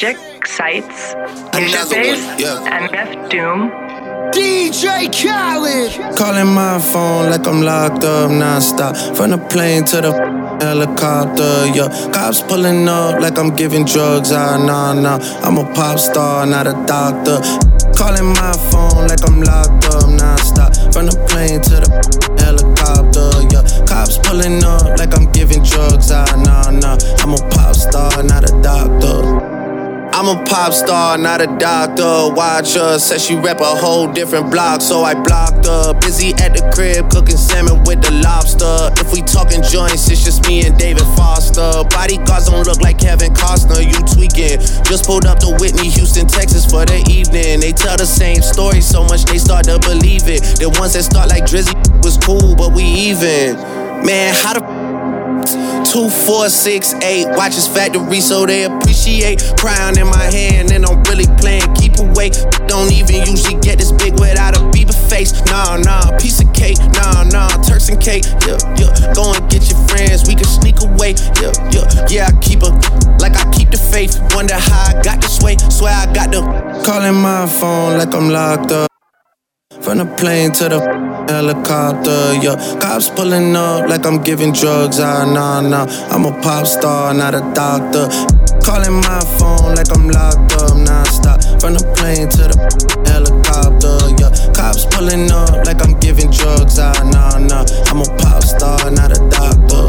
Logic, Sights, Base, and Def Doom. DJ Khaled. Calling my phone like I'm locked up non-stop. From the plane to the helicopter, yeah. Cops pulling up like I'm giving drugs, nah. I'm a pop star, not a doctor. Calling my phone like I'm locked up non-stop. From the plane to the helicopter, yeah. Cops pulling up like I'm giving drugs, nah. I'm a pop star, not a doctor. I'm a pop star, not a doctor. Watch her, said she rep a whole different block, so I blocked her. Busy at the crib, cooking salmon with the lobster. If we talking joints, it's just me and David Foster. Bodyguards don't look like Kevin Costner, you tweaking. Just pulled up to Whitney, Houston, Texas for the evening. They tell the same story so much they start to believe it. The ones that start like Drizzy was cool, but we even. Man, how the 2, 4, 6, 8 watches factory so they appreciate. Crown in my hand and I'm really playing keep away. Don't even usually get this big without a Bieber face. Nah, piece of cake. Nah, Turks and cake. Yeah. Go and get your friends, we can sneak away. Yeah, I keep her like I keep the faith. Wonder how I got this way. Swear I got the calling my phone like I'm locked up. From the plane to the helicopter, yeah. Cops pulling up like I'm giving drugs, nah. I'm a pop star, not a doctor. Calling my phone like I'm locked up non-stop. From the plane to the helicopter, yeah. Cops pulling up like I'm giving drugs, nah. I'm a pop star, not a doctor.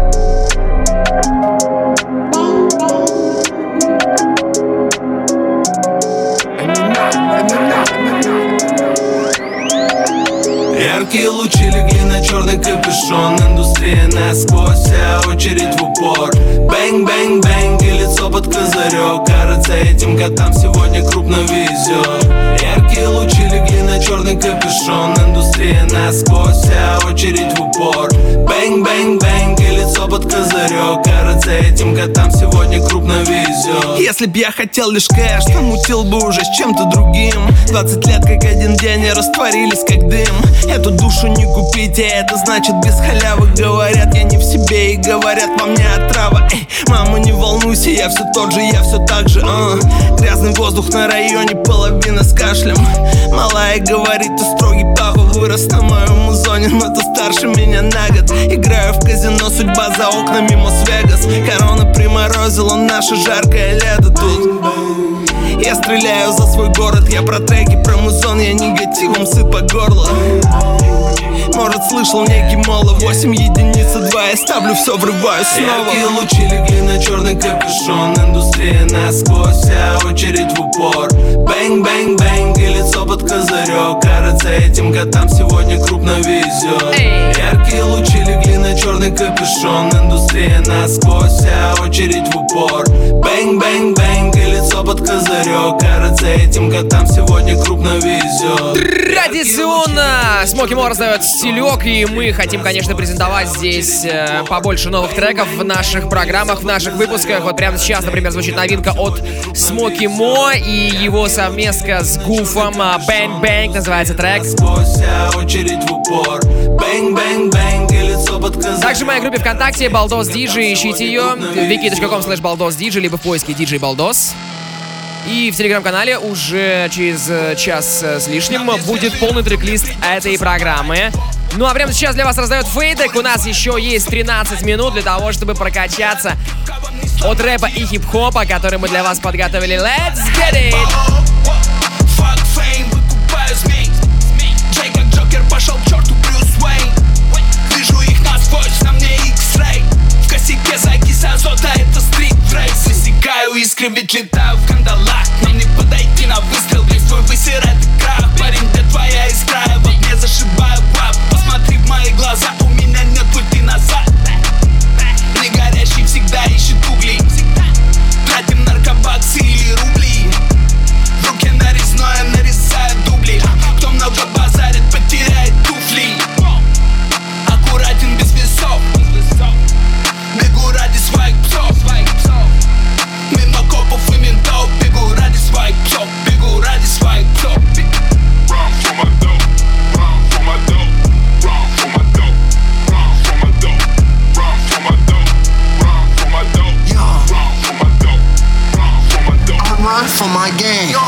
Яркие лучи легли на черный капюшон. Индустрия насквозь, вся очередь в упор. Бэнг-бэнг-бэнг и лицо под козырек. Кажется, этим котам сегодня крупно везет. Яркие лучи легли на черный капюшон. Индустрия насквозь, вся очередь в упор. Бэнг-бэнг-бэнг и лицо под козырек. Кажется, этим котам сегодня крупно везет. Если б я хотел лишь кэш, то мутил бы уже с чем-то другим. 20 лет как один день и растворились как дым. Эту душу не купите, это значит без халявы. Говорят, я не в себе и говорят, во мне отрава. Эй, мама, не волнуйся, я все тот же, я все так же. Грязный воздух на районе, половина с кашлем. Малая говорит, ты строгий папа. Вырос на моем музоне, но ты старше меня на год. Играю в казино, судьба за окнами Мос-Вегас. Корона приморозила наше жаркое лето тут. Я стреляю за свой город, я про треки, про музон, я негативом сыт по горло. Может, слышал некий моло, 8 единиц, 2, я ставлю, все врываю снова. Яркие лучи легли на черный капюшон. Индустрия насквозь, вся очередь в упор. Бэнг-бэнг-бэнг и лицо под козырек. Кажется, этим котам сегодня крупно везет. Яркие лучи легли на черный капюшон. Индустрия насквозь, вся очередь в упор. Бэнг-бэнг-бэнг и лицо под козырек. Кажется, этим котам сегодня крупно везет. Традиционно Смоки Мо раздает стилек, и мы хотим, конечно, презентовать здесь побольше новых треков в наших программах, в наших выпусках. Вот прямо сейчас, например, звучит новинка от Смоки Мо и его совместка с Гуфом. Bang Bang называется трек. Также в моей группе ВКонтакте Балдос Диджей, ищите ее wiki.com/BaldosDJ, либо в поиске DJ Балдос. И в телеграм-канале уже через час с лишним будет полный трек-лист этой программы. Ну а прямо сейчас для вас раздает Фейдек. У нас еще есть 13 минут для того, чтобы прокачаться от рэпа и хип-хопа, который мы для вас подготовили. Let's get it! Fuck fame, выкупаю змей. Джей как Джокер пошел к черту, Брюс Уэйн. Вижу их насквозь, на мне X-Ray. В косяке закись азота, это стрит-рейс. Высекаю искры, ведь летаю в кандалах. Нам не подойти на выстрел, весь твой высирает крах. Парень, где твоя искра, я в огне зашибаю пап. Посмотри в мои глаза, у меня нет пути назад. Не горящий всегда ищет угли. Тратим наркобаксы или рубли. В руке нарезное, нарезаю дубли. Кто много базарит, потеряет туфли. Аккуратен без весов. Бегу ради своих псов. Мимо копов и ментов.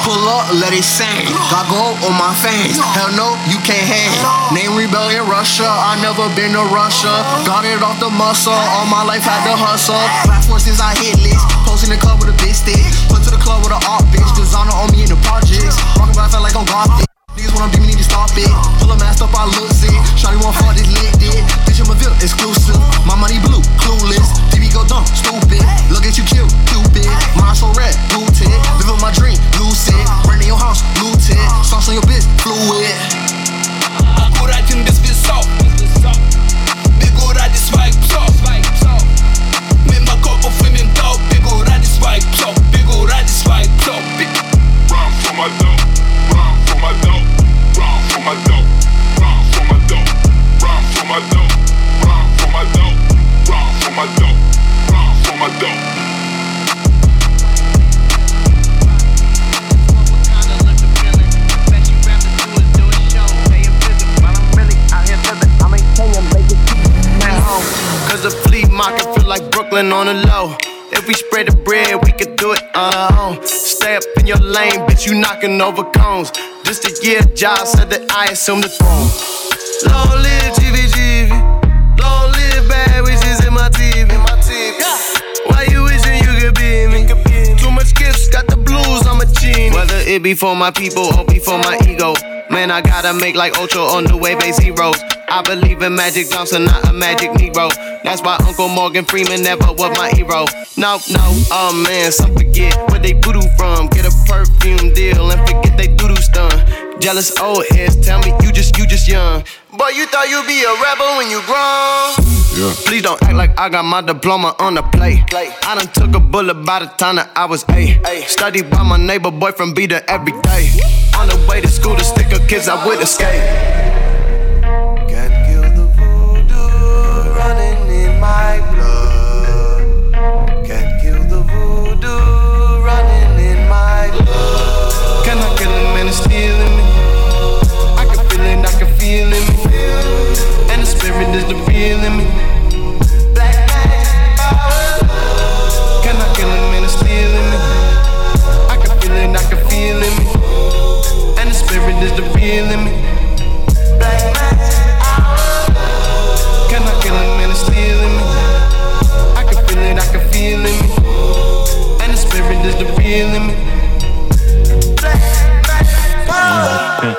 Pull up, let it sing. Got gold on my fangs. Hell no, you can't hang. Name rebellion Russia. I never been to Russia. Got it off the muscle. All my life had to hustle. Black forces I hit list. Posting the club with a big stick. Put to the club with an art bitch. Designer on me in the projects. Rockin' by felt like I'm gothic. Niggas when I'm deep, need to stop it. Pull a mask up, I look sick. Shawty want fuck this lit dick. Bitch, I'm a villain, exclusive. My money blue, clueless. TV go dumb, stupid. Look at you cute, Cupid. Mind so red, booted. Live up my dream, lucid. Rent in your house, looted. Sauce on your bitch, fluid. Аккуратен без весов. Бегу ради своих псов. Мимо копов и ментов. Бегу ради своих псов. Бегу ради своих псов. Run for my dope. Run for my dope. Run for my dope. Run for my dope. Run for my dope. Run for my dope. Run for my dope. Run for my dope. Cause the flea market feel like Brooklyn on the low. If we spread the bread, we could do it on our own. Stay up in your lane, bitch, you knocking over cones. Just a year, Josh said that I assume the throne. Long live GVGV. Long live bad wishes in my TV. Why you wishing you could be me? Too much gifts, got the blues, I'm a genie. Whether it be for my people or be for my ego. Man, I gotta make like Ocho on the way base heroes. I believe in Magic Johnson, not a magic Negro. That's why Uncle Morgan Freeman never was my hero. No, oh man, some forget where they voodoo from. Get a perfume deal and forget they doo-doo stun. Jealous old heads tell me you just young. Boy, you thought you'd be a rebel when you grown. Yeah. Please don't act like I got my diploma on the plate. I done took a bullet by the time that I was 8. Studied by my neighbor boyfriend, be there every day. On the way to school, the sticker kids I would escape. Can't kill the voodoo running in my blood. Can't kill the voodoo running in my blood. Can I kill him and it's stealing me? I can feel it, I can feel it. And the spirit is the real in me. Black magic power. Can I kill him and it's stealing me? I can feel it, I can feel it. And the spirit is the real in me. Black magic power. Can I kill him and it's stealing me? I can feel it, I can feel it. And the spirit is the real in me. Black magic power.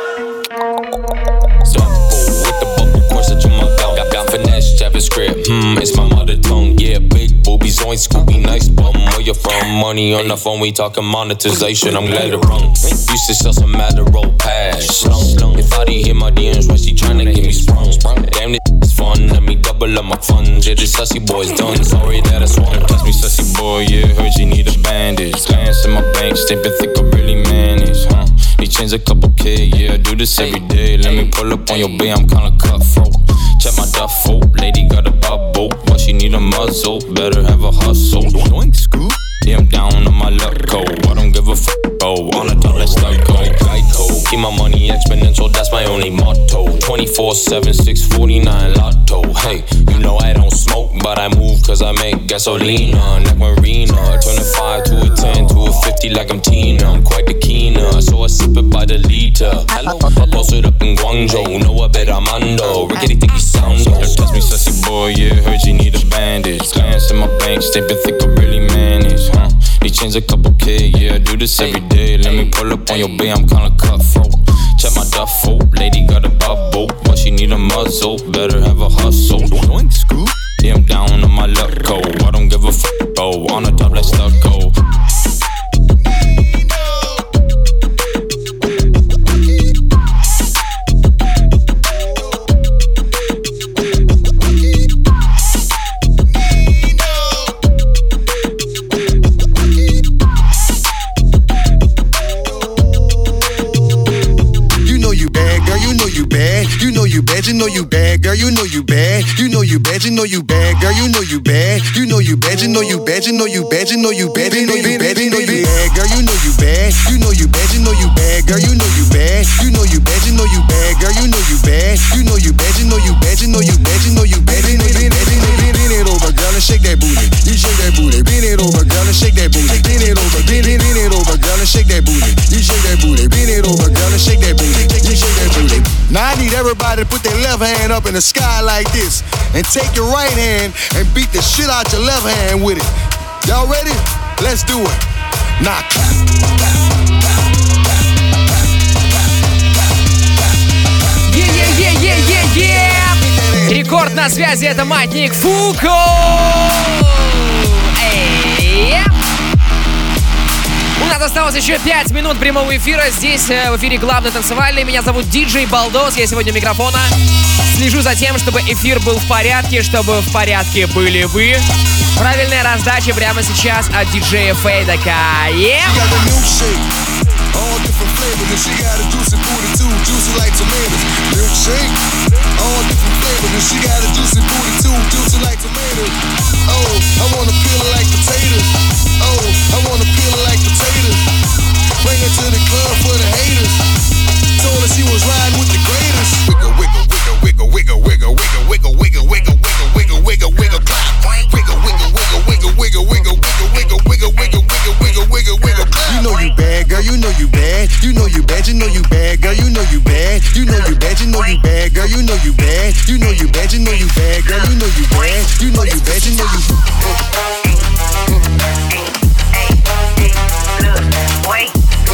Script, it's my mother tongue, yeah, big boobies, on Scooby, nice bum, where you from, money on the phone, we talking monetization, I'm glad it rung, used to sell some Adderall pass, if I didn't hit my DMs, why she tryna get me sprung, damn this fun, let me double up my funds, yeah, this sussy boy's done, sorry that I swung, touch me sussy boy, yeah, heard you need a bandage, glance in my bank, statement think I really manage, they change a couple K, yeah, I do this every day, let me pull up on your bay, I'm kinda cutthroat. Check my duffel, lady got a bubble, but she need a muzzle, better have a hustle. Doink scoop, yeah, I'm down on my luck code. I don't give a f***, oh, on the top, let's start go. Geico, keep my money exponential, that's my only motto. 24/7, 649 lotto. Hey, you know I don't smoke, but I move cause I make gasolina. Like Marina, turn a 5 to a 10 to a 50 like I'm Tina. I'm quite the keener, so I sip it by the liter. I posted up in Guangzhou, know I bet I'm under. Rickety think he sound old. Touch me sussy boy, yeah, heard you need a bandage. Glance in my bank statement, think I really manage, They change a couple K, yeah, I do this every day. Let me pull up on your bay, I'm kinda cutthroat. Check my duffel, lady got a bubble, but she need a muzzle, better have a hustle. Doink scoop, yeah, I'm down on my luck code. I don't give a f***, oh, on the top, let's start go. You know you bad, girl, you know you bad. You know you bad, you know you bad, girl, you know you bad. You know you bad, you know you bad, you know you bad, you know you bad, you know you bad, you know you bad, girl, you know you bad. You know you bad, you know you bad, girl, you know you bad. You know you bad, you know you bad, girl, you know you bad. You know you bad, you know you bad, you know you bad, you know you bad, you know you bad, you know you bad. Bend it over, girl, and shake that booty. You shake that booty. Bend it over, girl, and shake that booty. Bend it over, bend it over, girl, and shake that booty. You shake everybody put their left hand up in the sky like this. And take your right hand and beat the shit out your left hand with it. Y'all ready? Let's do it. Now clap, clap. Рекорд на связи, это Маятник Фуко. У нас осталось еще 5 минут прямого эфира. Здесь в эфире главный танцевальный. Меня зовут диджей Балдос. Я сегодня у микрофона. Слежу за тем, чтобы эфир был в порядке, чтобы в порядке были вы. Правильная раздача прямо сейчас от диджея Фейдека. All different flavors, and she got a juicy booty too, juicy like tomatoes. Milkshake, all different flavors, and she got a juicy booty too, juicy like tomatoes. Oh, I wanna peel it like potatoes. Oh, I wanna peel it like potatoes. Bring her to the club for the haters. Told her she was riding with the greatest. Wiggle, wiggle, wiggle, wiggle, wiggle, wiggle, wiggle, wiggle, wiggle, wiggle, wiggle, wiggle, clap. Wiggle, wiggle, wiggle, wiggle, wiggle, wiggle, wiggle, wiggle, wiggle, wiggle, wiggle, wiggle, clap. You know you bad, girl. You know you bad. You know you bad. You know you bad, girl. You know you bad. You know you bad. You know you bad, girl. You know you bad. You know you bad. You know you bad, girl. You know you bad. You know you bad. You know you. Wait.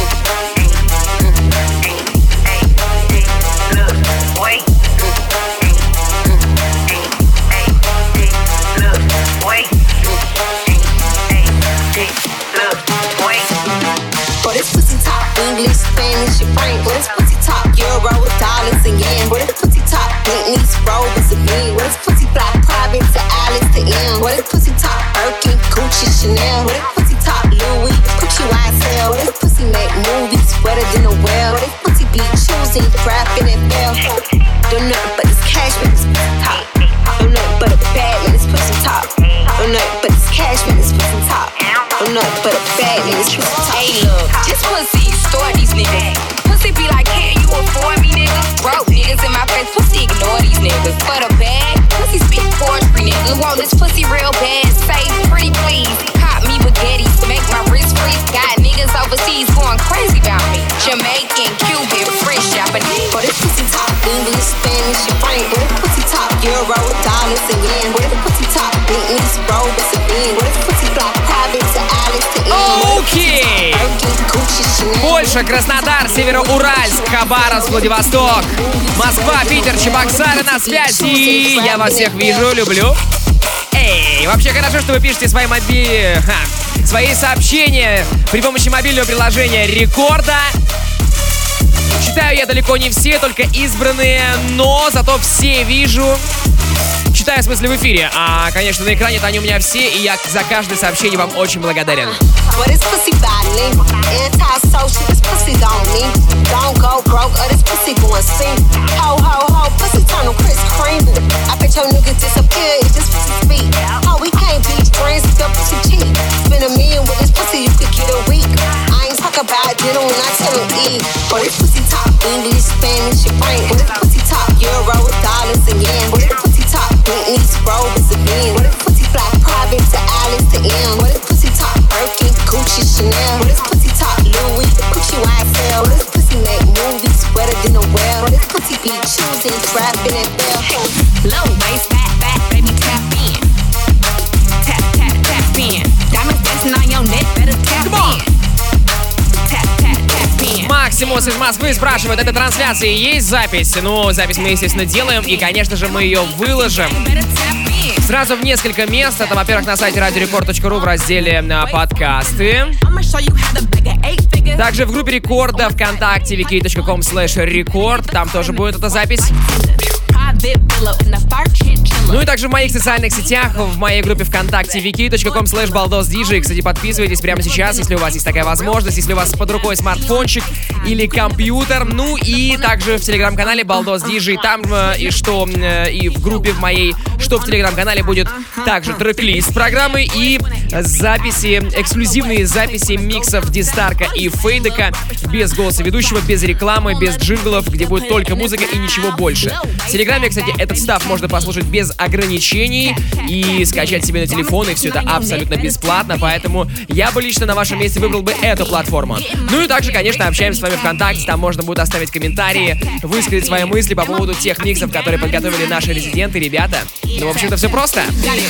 English, Spanish, and French. What is pussy top? Euro, dollars, and yen. What is pussy top? Bentleys, Rovers, and men. What is pussy fly? Private to Alice to M. What is pussy top? Birkin, Gucci, Chanel. What is pussy top? Louis, Gucci, YSL. What is pussy make movies wetter than a well? What is pussy be choosing, rapping, and bell? Don't nothing but this cash when it's pussy top. Don't nothing but a bag when it's pussy top. Don't nothing but this cash when it's pussy top. Don't nothing but a bag when it's pussy top. Hey, look, this pussy. Store these niggas. Pussy be like, can you afford me, nigga? Broke niggas in my face, pussy ignore these niggas. For the bag, pussy speak poetry, nigga. Want this pussy real bad, say pretty please. Cop me baguettes, make my wrist freeze. Got niggas overseas going crazy about me. Jamaican, Cuban, French, Japanese. For this pussy top, English, Spanish, and French. For this pussy top, Euro, dollars, and yen. For this pussy top, Bentleys, Rovers, and men. For this pussy fly private to Alice to M. Окей! Польша, Краснодар, Североуральск, Хабаровск, Владивосток, Москва, Питер, Чебоксары на связи. Я вас всех вижу, люблю. Эй, вообще хорошо, что вы пишете свои сообщения при помощи мобильного приложения Рекорда. Читаю я далеко не все, только избранные, но зато все вижу. Читаю, в смысле, в эфире. А, конечно, на экране-то они у меня все, и я за каждое сообщение вам очень благодарен. About dinner when I tell him eat. For this pussy top, English, Spanish, and French. For this pussy top, Euro, dollars, and yen. For this pussy top, Bentleys, Rovers, and men. For this pussy fly private to Alice to M. For this pussy top, Birkin, Gucci, Chanel. For this pussy top, Louis, Gucci, YSL. For this pussy make movies wetter than a well. For this pussy be choosing, rapping, and bell. Low waist, fat, baby, tap in. Tap, tap, tap in. Diamonds dancing on your neck, better tap in. Максимус из Москвы спрашивает, этой трансляции есть запись? Ну, запись мы, естественно, делаем, и, конечно же, мы ее выложим сразу в несколько мест. Это, во-первых, на сайте radiorecord.ru в разделе «Подкасты». Также в группе Рекорда ВКонтакте vk.com/record. Там тоже будет эта запись. Ну и также в моих социальных сетях, в моей группе ВКонтакте vk.com/baldosdj. Кстати, подписывайтесь прямо сейчас, если у вас есть такая возможность, если у вас под рукой смартфончик или компьютер. Ну и также в телеграм-канале Baldos DJ. Там и в группе в моей, что в телеграм-канале будет также трек-лист программы и записи, эксклюзивные записи миксов Дистарка и Фейдека без голоса ведущего, без рекламы, без джинглов, где будет только музыка и ничего больше. В телеграме, кстати, этот став можно послушать без ограничений и скачать себе на телефон, и все это абсолютно бесплатно, поэтому я бы лично на вашем месте выбрал бы эту платформу. Ну и также, конечно, общаемся с вами ВКонтакте, там можно будет оставить комментарии, высказать свои мысли по поводу тех миксов, которые подготовили наши резиденты, ребята. Ну, в общем-то, все просто.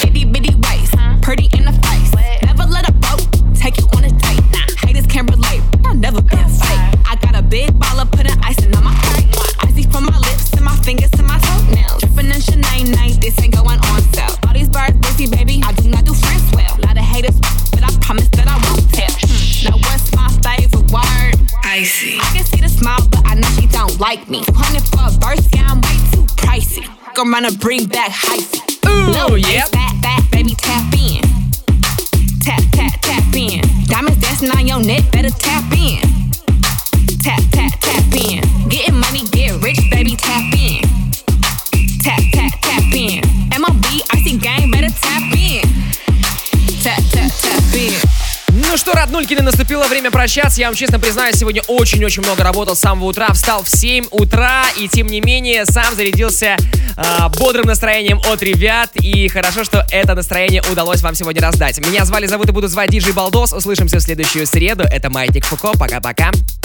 Icy. I can see the smile, but I know she don't like me. 200 for a verse, yeah, I'm way too pricey. I'm gonna bring back hyphy. Ooh, yeah. Back, baby, tap in. Tap, tap, tap in. Diamonds dancing on your neck, better tap in. Tap, tap, tap in. Getting money, get rich, baby, tap in. Tap, tap, tap in. MLB, Icy gang, better tap in. Tap, tap, tap in. Ну что, роднулькины, наступило время прощаться. Я вам честно признаюсь, сегодня очень-очень много работал с самого утра. Встал в 7 утра и, тем не менее, сам зарядился бодрым настроением от ребят. И хорошо, что это настроение удалось вам сегодня раздать. Меня зовут и буду звать Диджей Балдос. Услышимся в следующую среду. Это Маятник Фуко. Пока-пока.